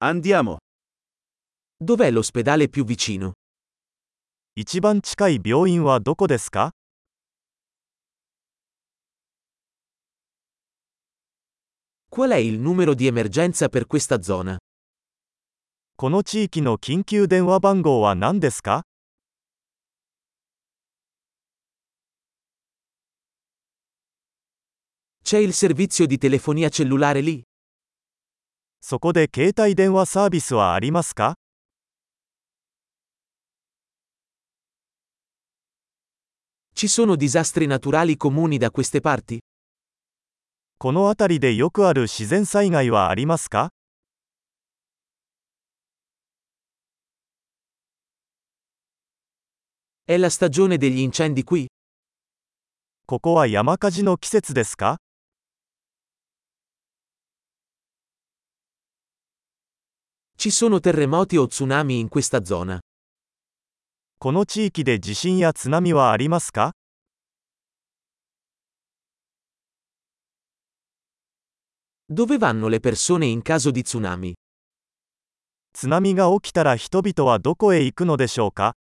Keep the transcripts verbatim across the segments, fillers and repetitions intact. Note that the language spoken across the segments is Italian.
Andiamo. Dov'è l'ospedale più vicino? 一番近い病院はどこですか？ Qual è il numero di emergenza per questa zona? この地域の緊急電話番号は何ですか？ C'è il servizio di telefonia cellulare lì? そこで携帯電話サービスはありますか？ Ci sono disastri naturali comuni da queste parti? この辺りでよくある自然災害はありますか？ È la stagione degli incendi qui? ここは山火事の季節ですか？ Ci sono terremoti o tsunami in questa zona? この地域で地震や津波はありますか？ Dove vanno le persone in caso di tsunami? 津波が起きたら人々はどこへ行くのでしょうか？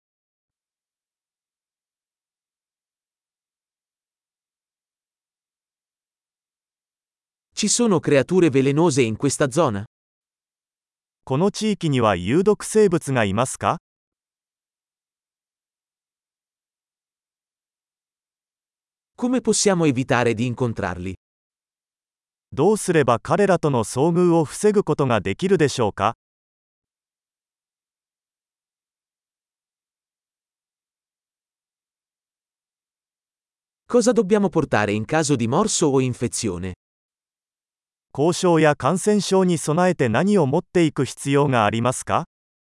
Ci sono creature velenose in questa zona? この地域には有毒生物がいますか？ Come possiamo evitare di incontrarli? どうすれば彼らとの遭遇を防ぐことができるでしょうか？ Cosa dobbiamo portare in caso di morso o infezione? 後遺症や感染症に備えて何を持っていく必要がありますか？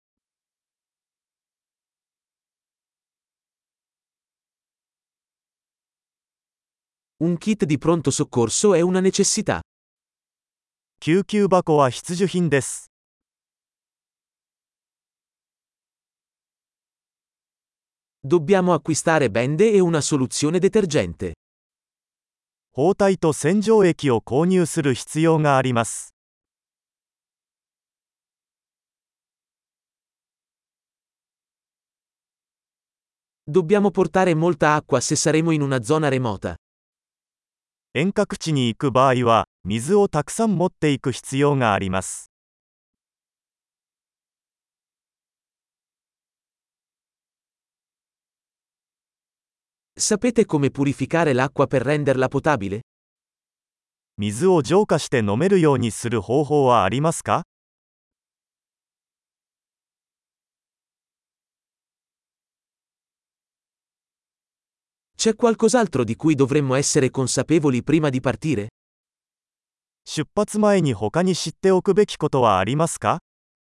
Un kit di pronto soccorso è una necessità. 救急箱は必需品です。 Dobbiamo acquistare bende e una soluzione detergente. 包帯と洗浄液を購入する必要があります。 Dobbiamo portare molta acqua se saremo in una zona remota. 遠隔地に行く場合は、水をたくさん持っていく必要があります。 Sapete come purificare l'acqua per renderla potabile? 水を浄化して飲めるようにする方法はありますか？ C'è qualcos'altro di cui dovremmo essere consapevoli prima di partire? 出発前に他に知っておくべきことはありますか？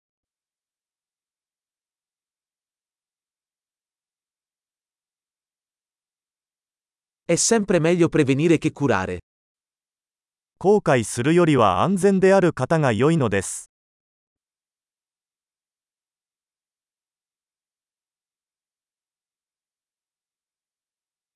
È sempre meglio prevenire che curare. 後悔するよりは安全である方が良いのです。